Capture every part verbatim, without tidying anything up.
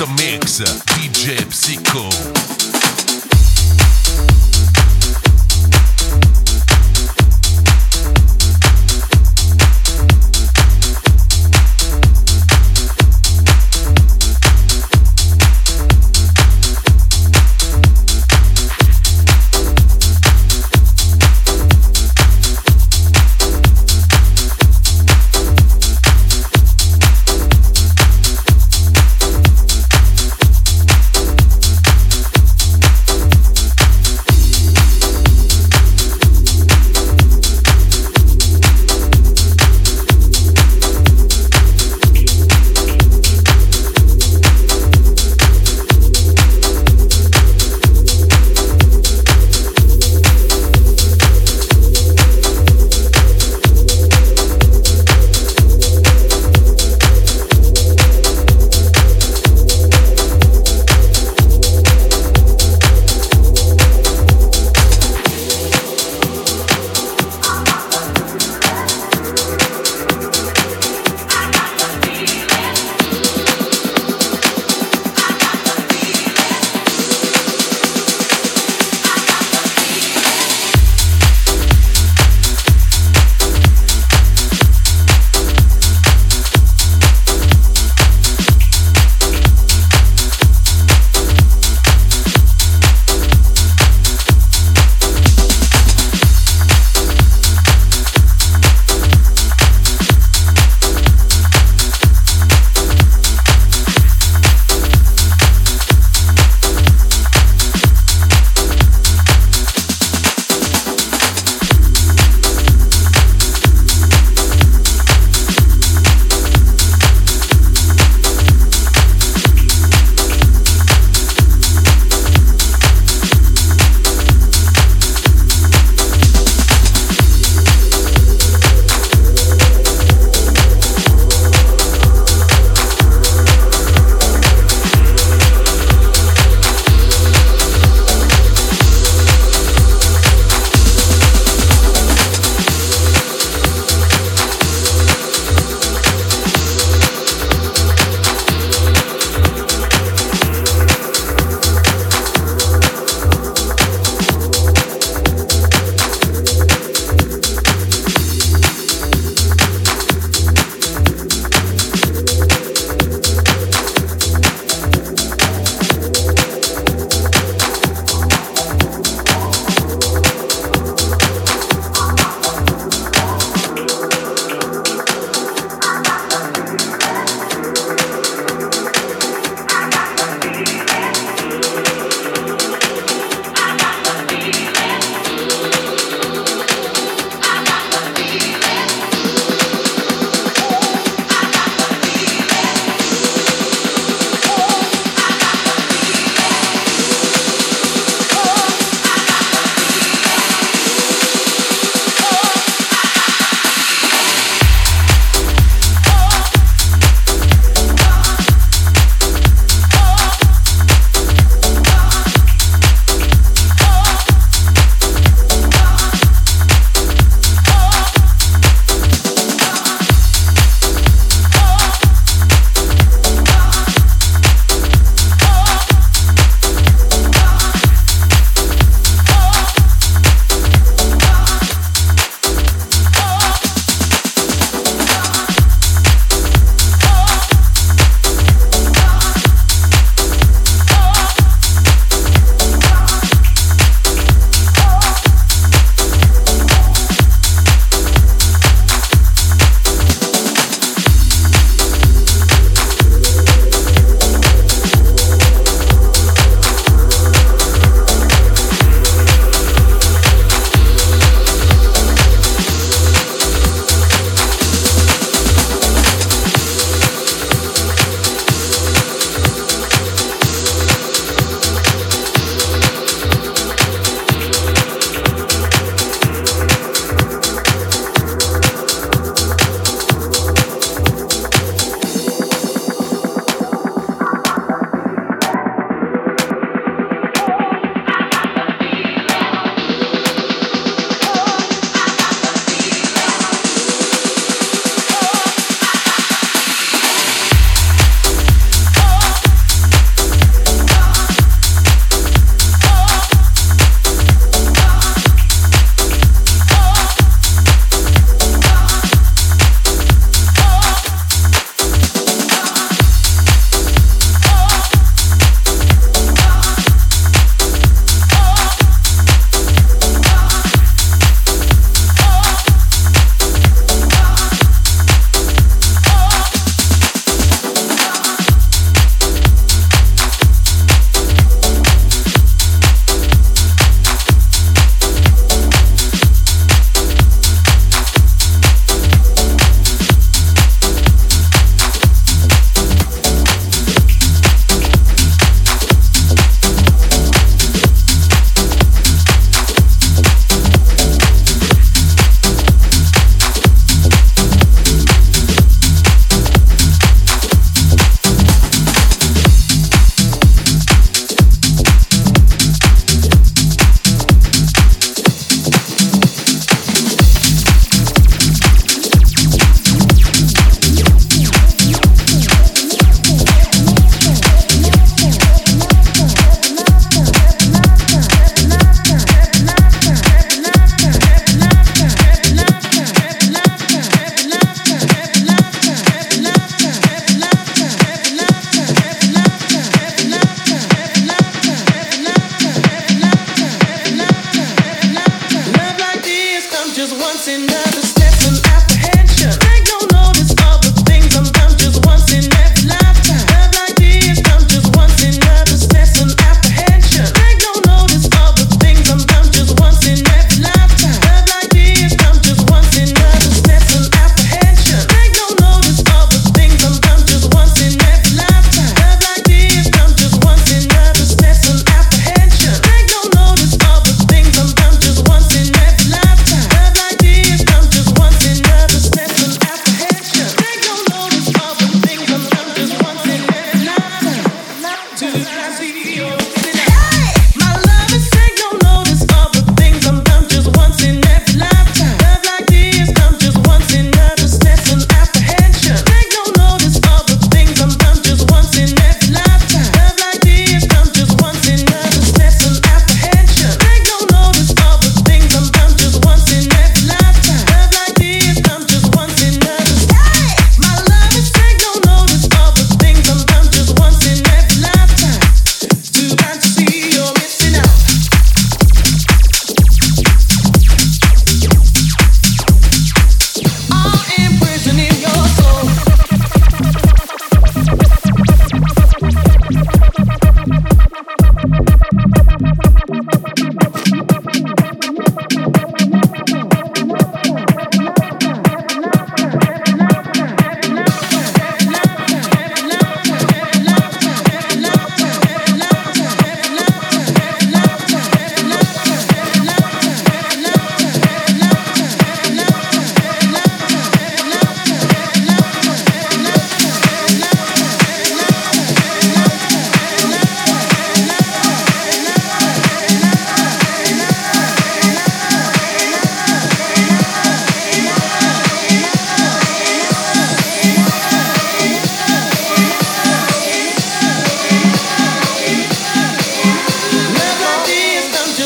the mix, D J Psycho.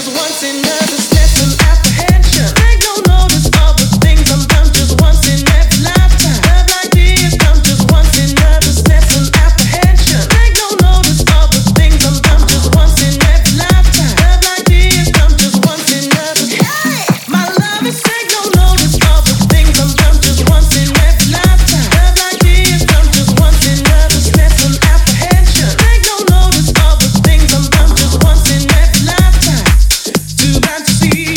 See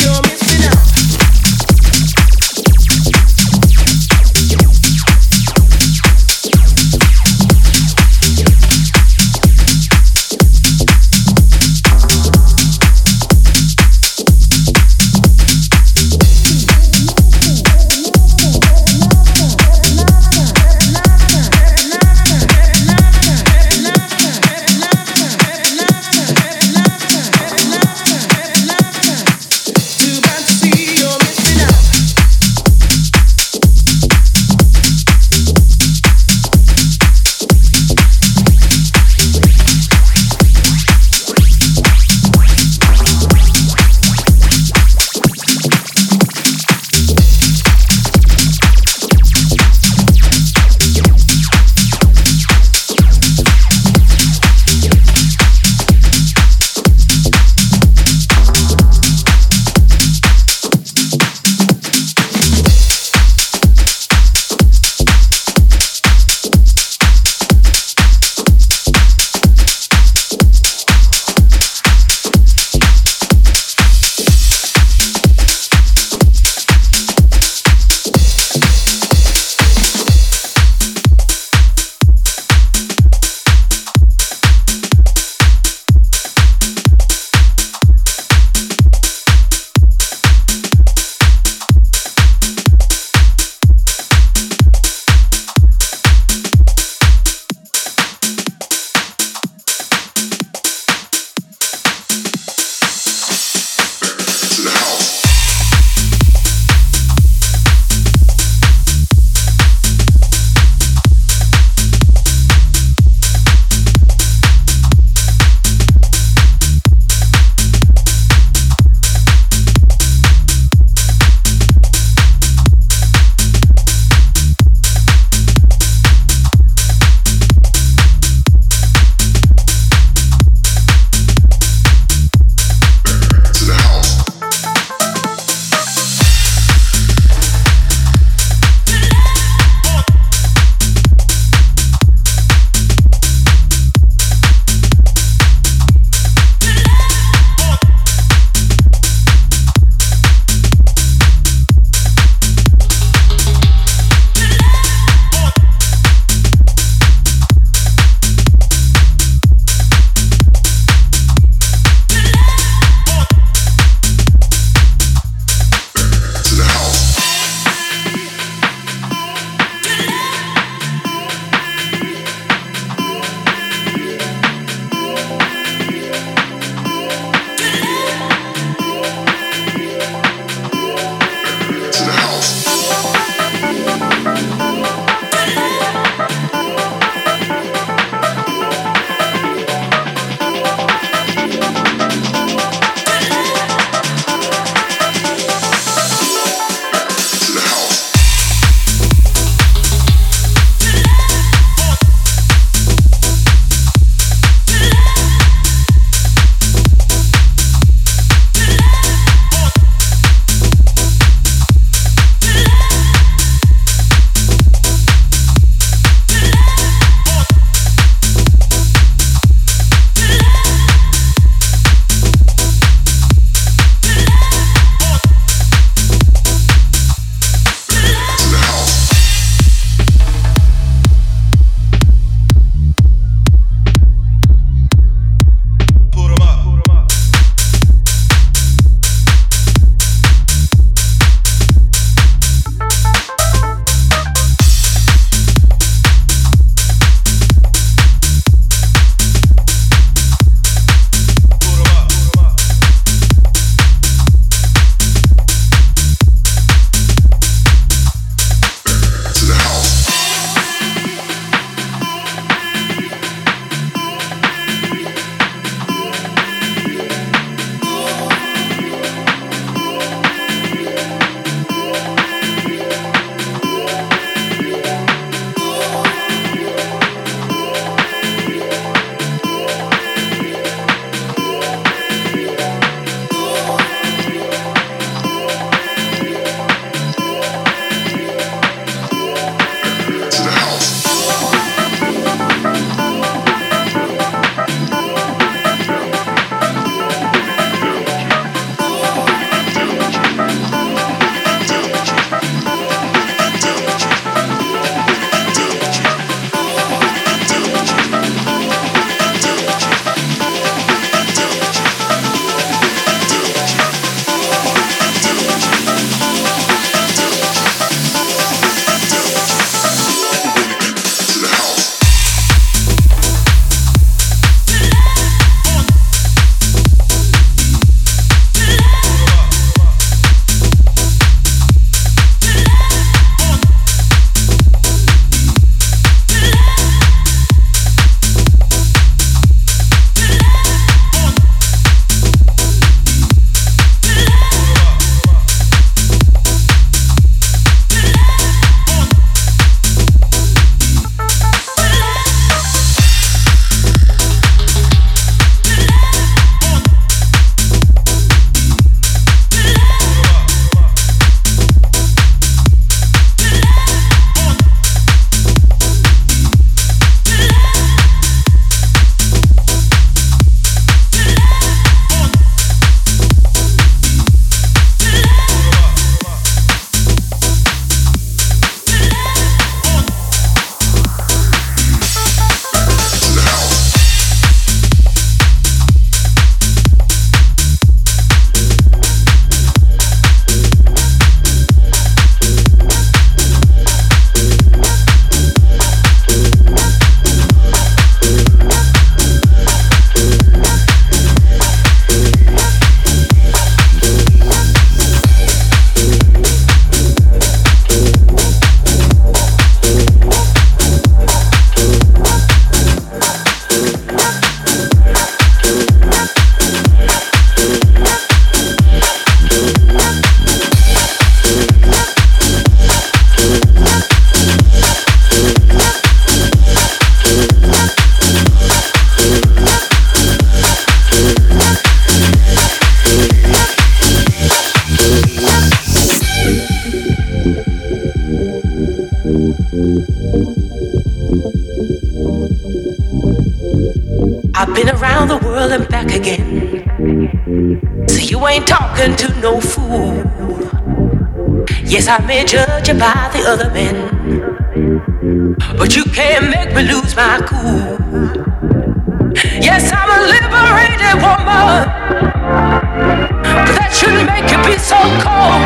So you ain't talking to no fool. Yes, I may judge you by the other men, but you can't make me lose my cool. Yes, I'm a liberated woman, but that shouldn't make you be so cold.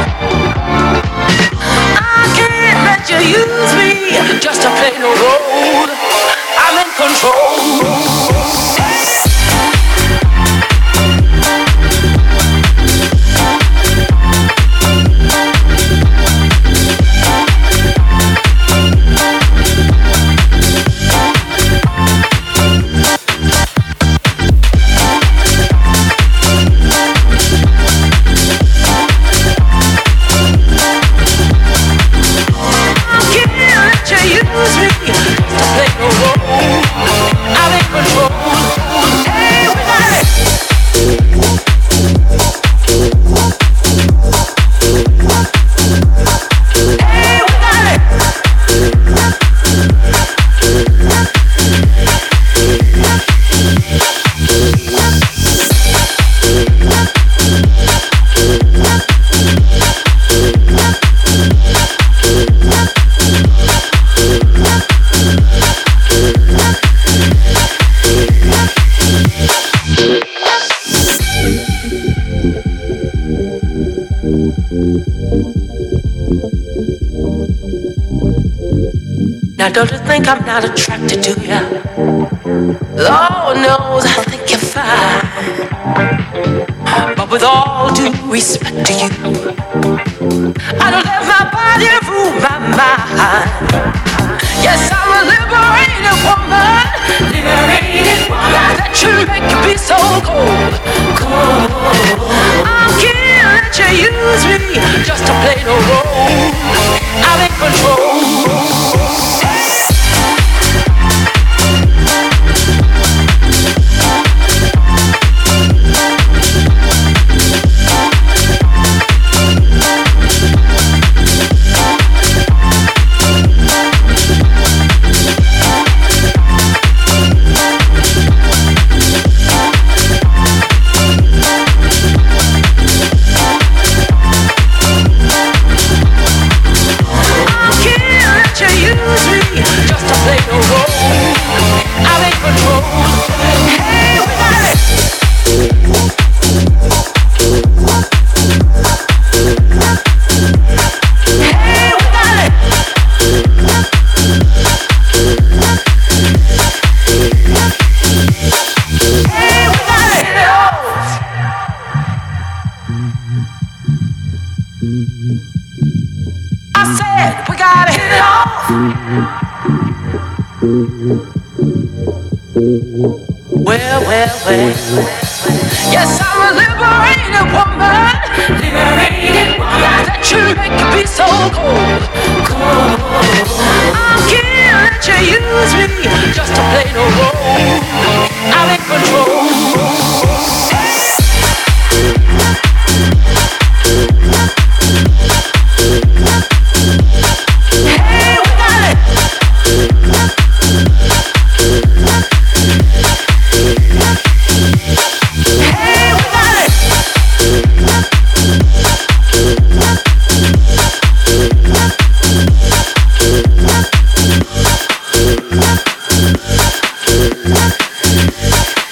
I can't let you use me just to play no role. I'm in control. Now don't you think I'm not attracted to you? Lord knows I think you're fine. But with all due respect to you, I don't let my body rule my mind. Yes, I'm a liberated woman. Liberated woman. That should make you be so cold. Cold. I can't let you use me just to play no role. I'm in control. Well, well, well. Yes, I'm a liberated woman. Liberated woman. That should make you be so cold. Cold. I can't let you use me just to play no role. I'm in control. We'll be right back.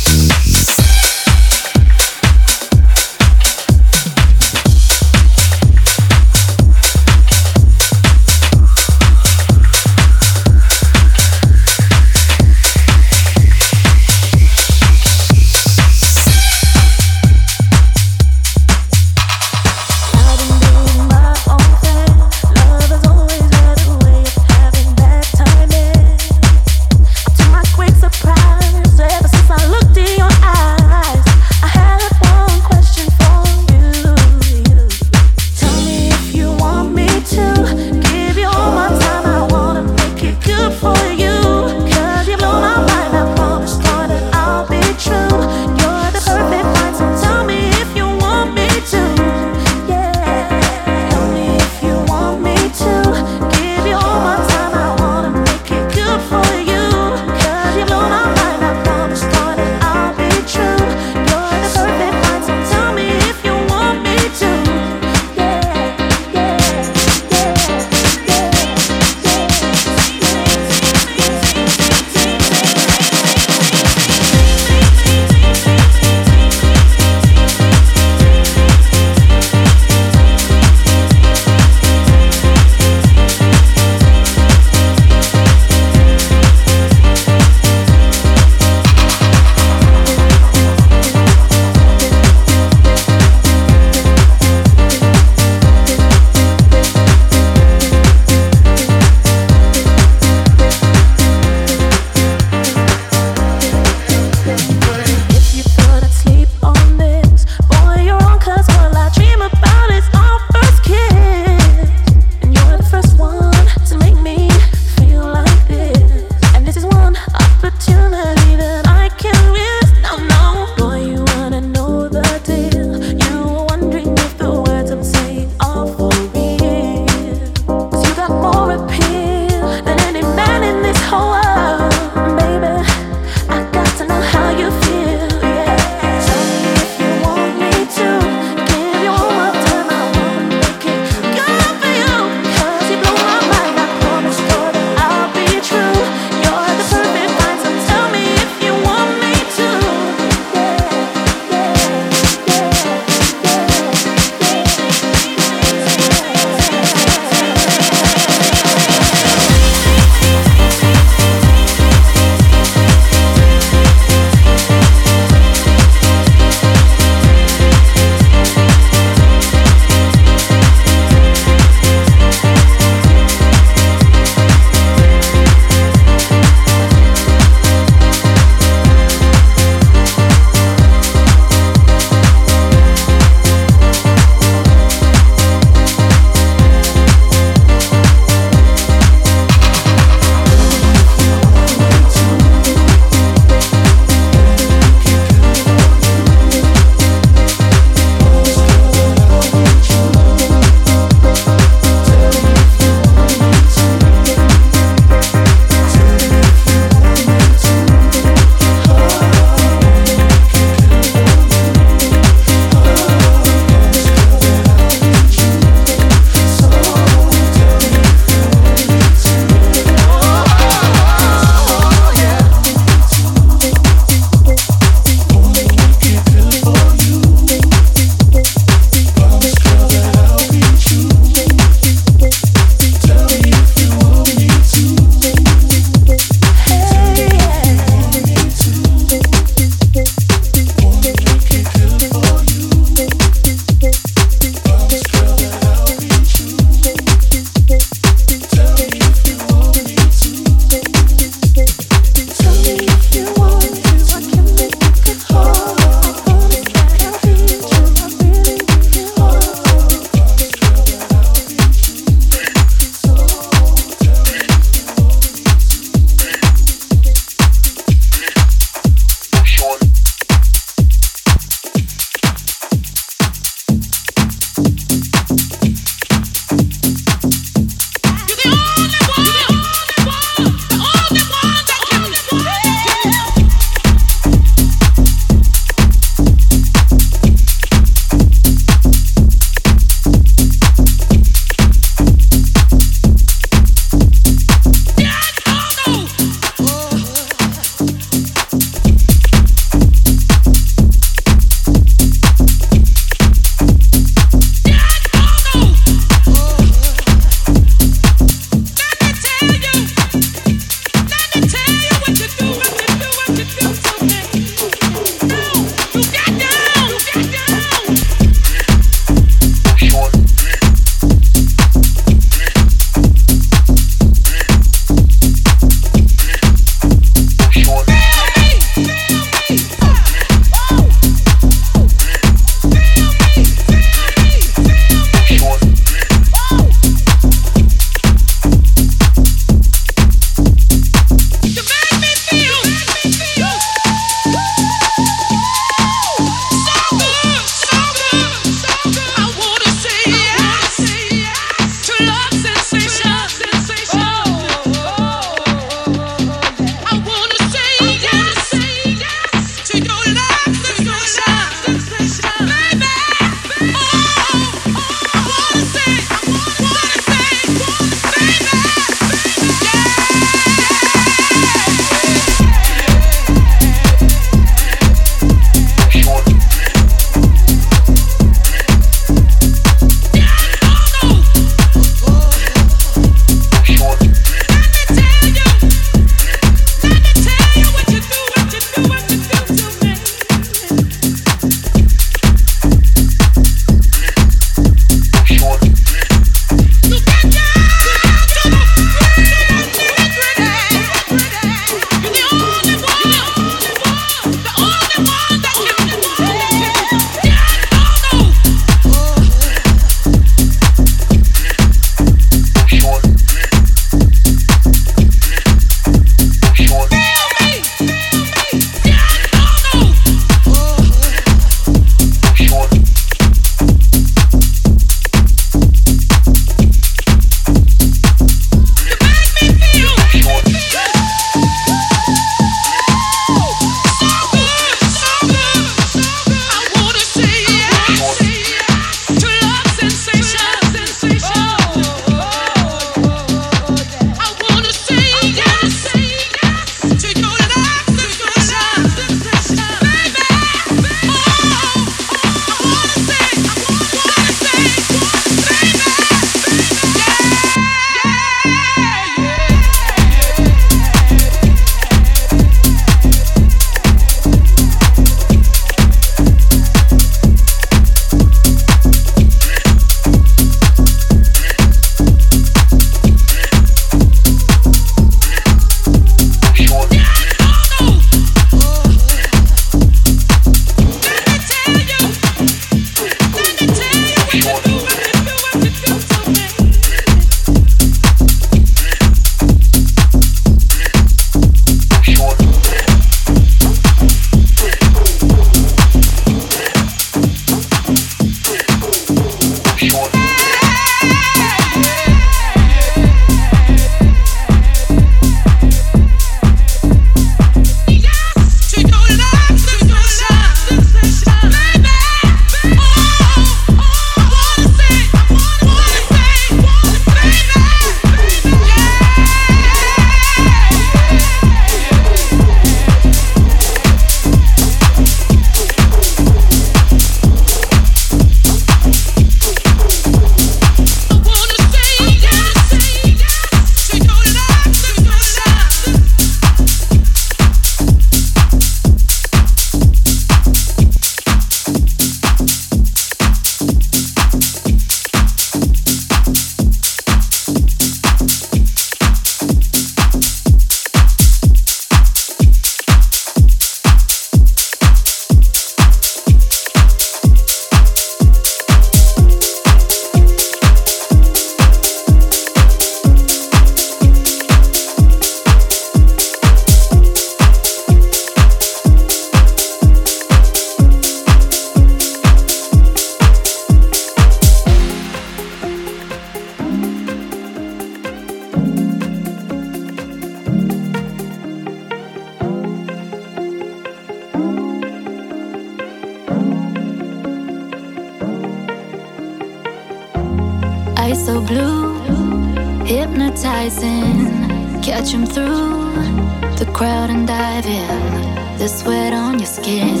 so blue, hypnotizing. Catch 'em through the crowd and dive in. The sweat on your skin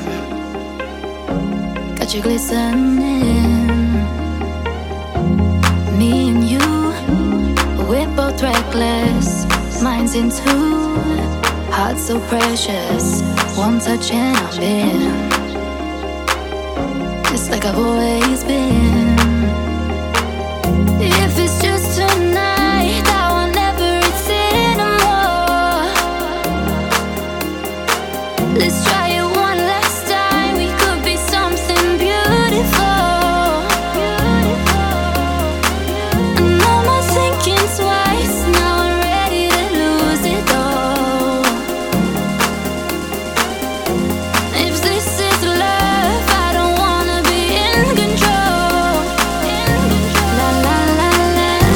got you glistening. Me and you, we're both reckless. Minds in two, hearts so precious. One touch and I'm in, just like I've always been. If it's just tonight, I want everything and more. Let's try it one last time. We could be something beautiful. And no more thinking twice. Now I'm ready to lose it all. If this is love, I don't wanna be in control. La la la la.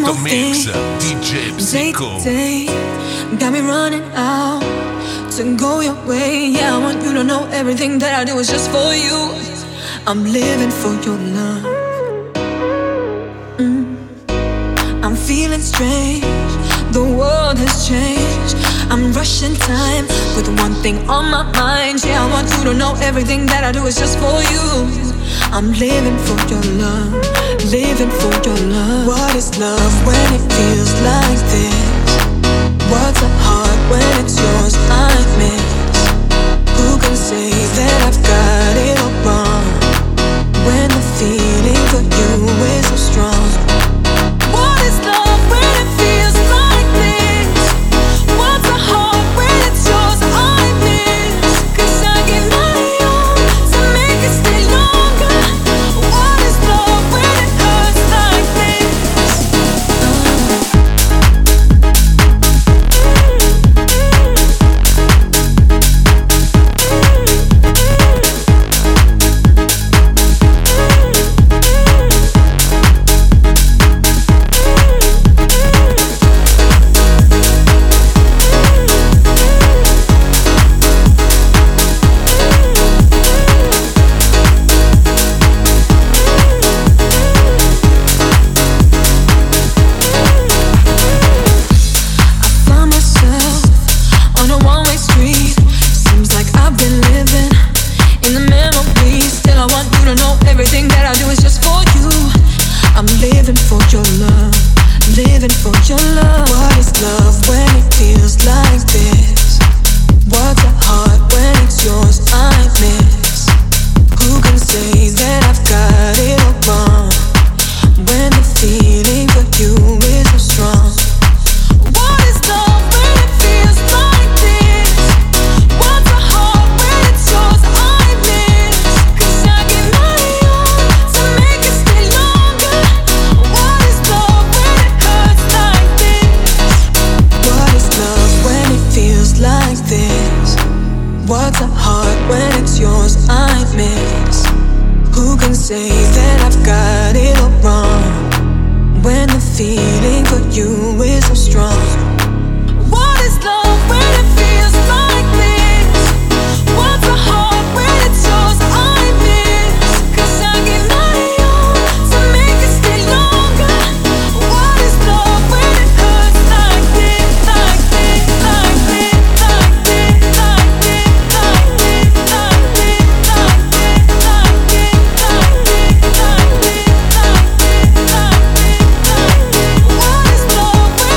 Selecto Mix, D J Psycho. Day, day, got me running out to go your way. Yeah, I want you to know everything that I do is just for you. I'm living for your love. Mm. I'm feeling strange. The world has changed. I'm rushing time with one thing on my mind. Yeah, I want you to know everything that I do is just for you. I'm living for your love, living for your love. What is love when it feels like this? What's a heart when it's yours I miss? Who can say that I've got it all wrong when the feeling for you is so strong? What is love when it feels like this? What's a heart when it's yours I miss? 'Cause I give my all to make it stay longer. What is love when it hurts like this? What is love?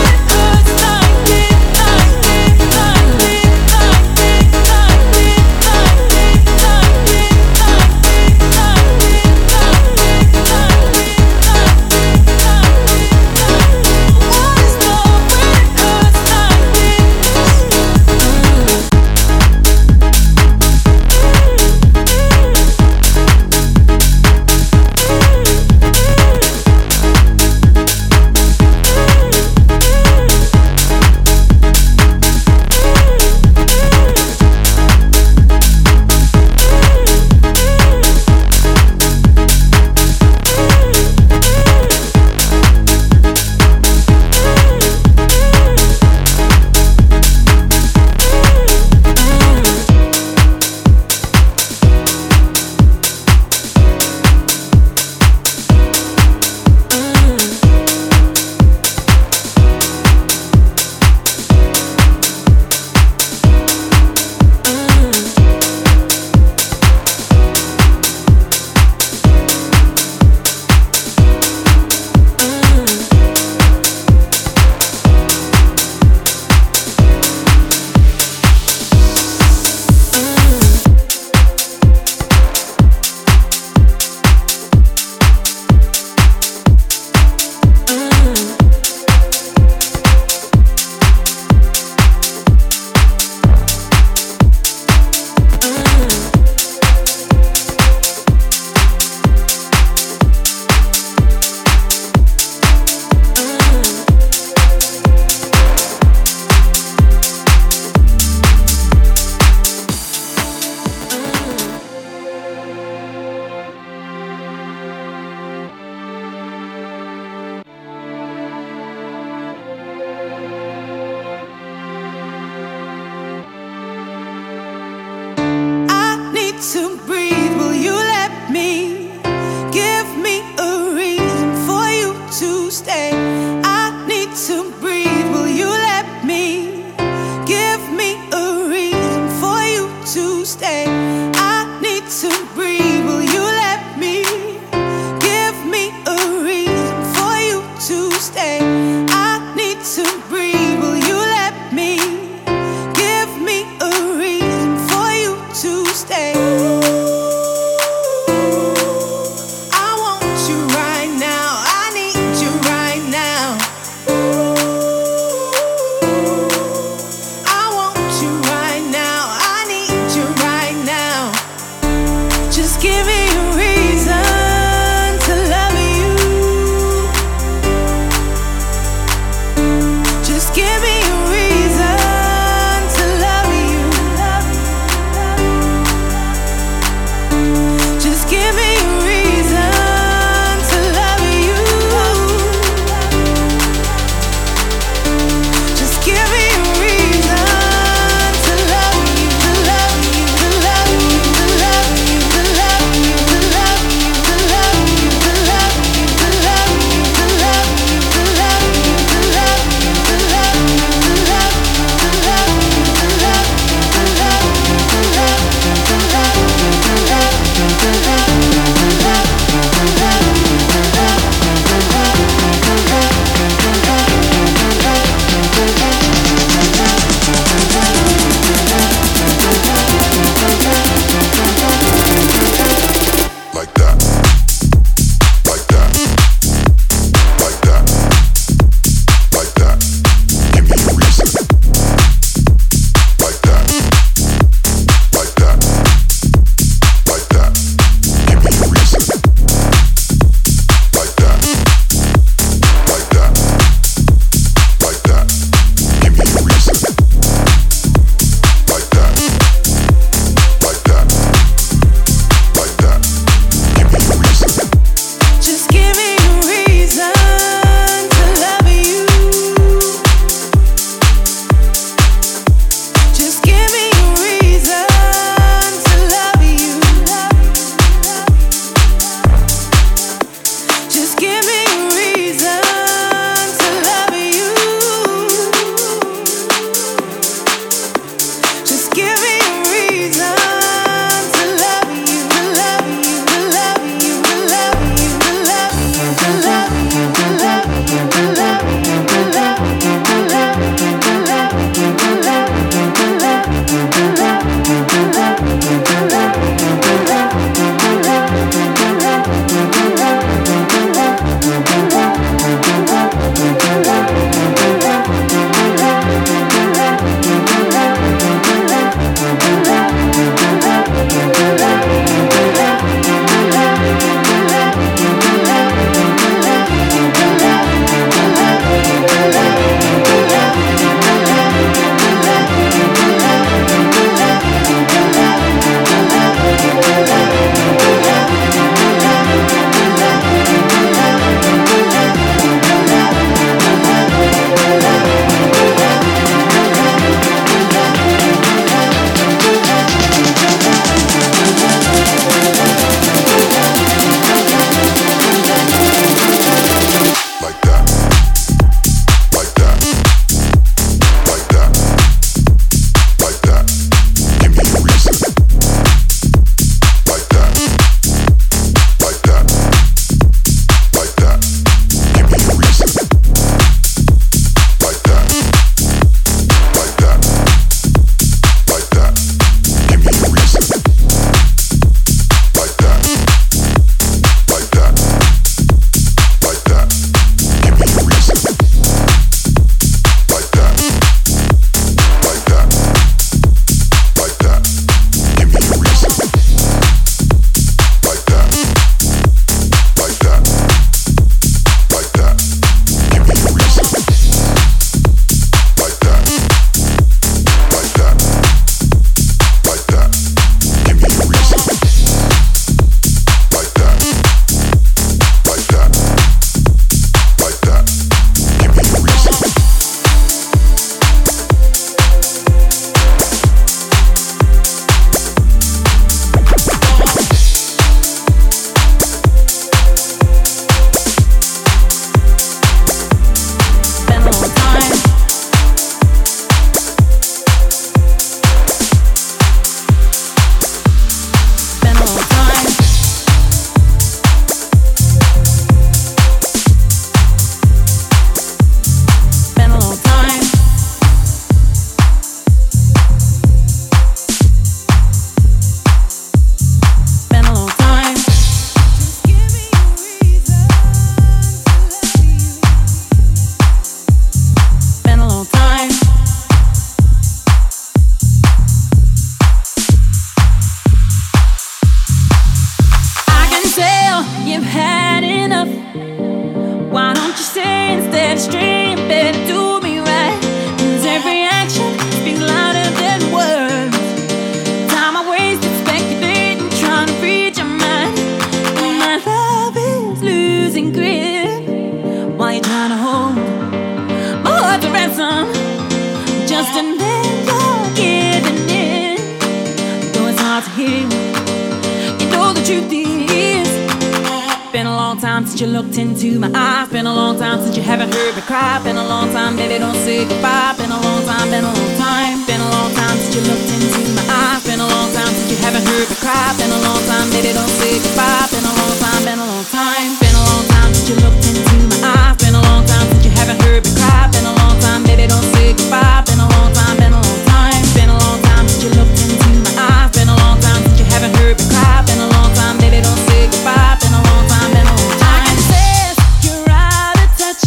you've had enough. Why don't you say instead of straying, better do me right? 'Cause every action speaks louder than words. Time I wasted speculating, trying to read your mind. And my love is losing grip while you're trying to hold my heart to ransom. Just and then you're giving in. Though it's hard to hear, you know the truth is. Been a long time since you looked into my eyes. Been a long time since you haven't heard me cry. Been a long time, baby, don't say goodbye. Been a long time, been a long time. Been a long time since you looked into my eyes. Been a long time since you haven't heard me cry. Been a long time, baby, don't say goodbye. Been a long time, been a long time. Been a long time since you looked into my eyes. Been a long time since you haven't heard me cry. Been a long time, baby, don't say goodbye. Been a long time, been a long time. Been a long time since you looked into my eyes. Been a long time since you haven't heard me cry. Been a long time, baby, don't say goodbye. Been a long time, been a long time. I can sense you're out of touch,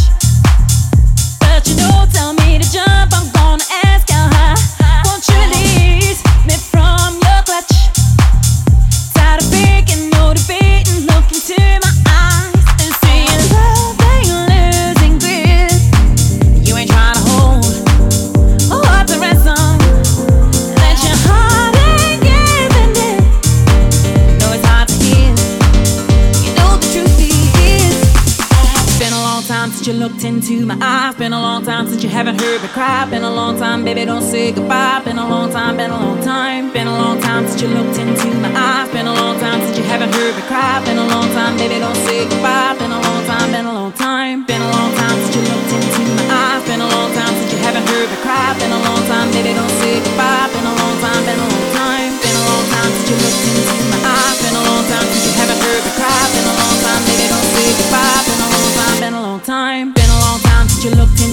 but you know, tell me to jump. I'm gonna ask how high. Won't you release me from your clutch? Tired of faking, no debating. Look into my eyes and see love ain't losing grip. You ain't trying to hold a heart to ransom. That your heart ain't giving it. No, it's hard to hear. You know the truth is. Been a long time since you looked into my eyes. Been a long time since you haven't heard me cry. Been a long time, baby, don't say goodbye. Been a long time, been a long time. Been a long time since you looked into my eyes. Been a long time since you haven't heard me cry. Been a long time, baby, don't say goodbye. Been a long time, been a long time. Been a long time since you looked into my eyes. Been a long time since you haven't heard me cry. Been a long time, baby, don't say goodbye. Been a long time, been a long time. Been a long time since you looked into my eyes. Been a long time since you haven't heard me cry. Been a long time, baby, don't say goodbye. Been a long time, been a long time. Been a long time since you looked into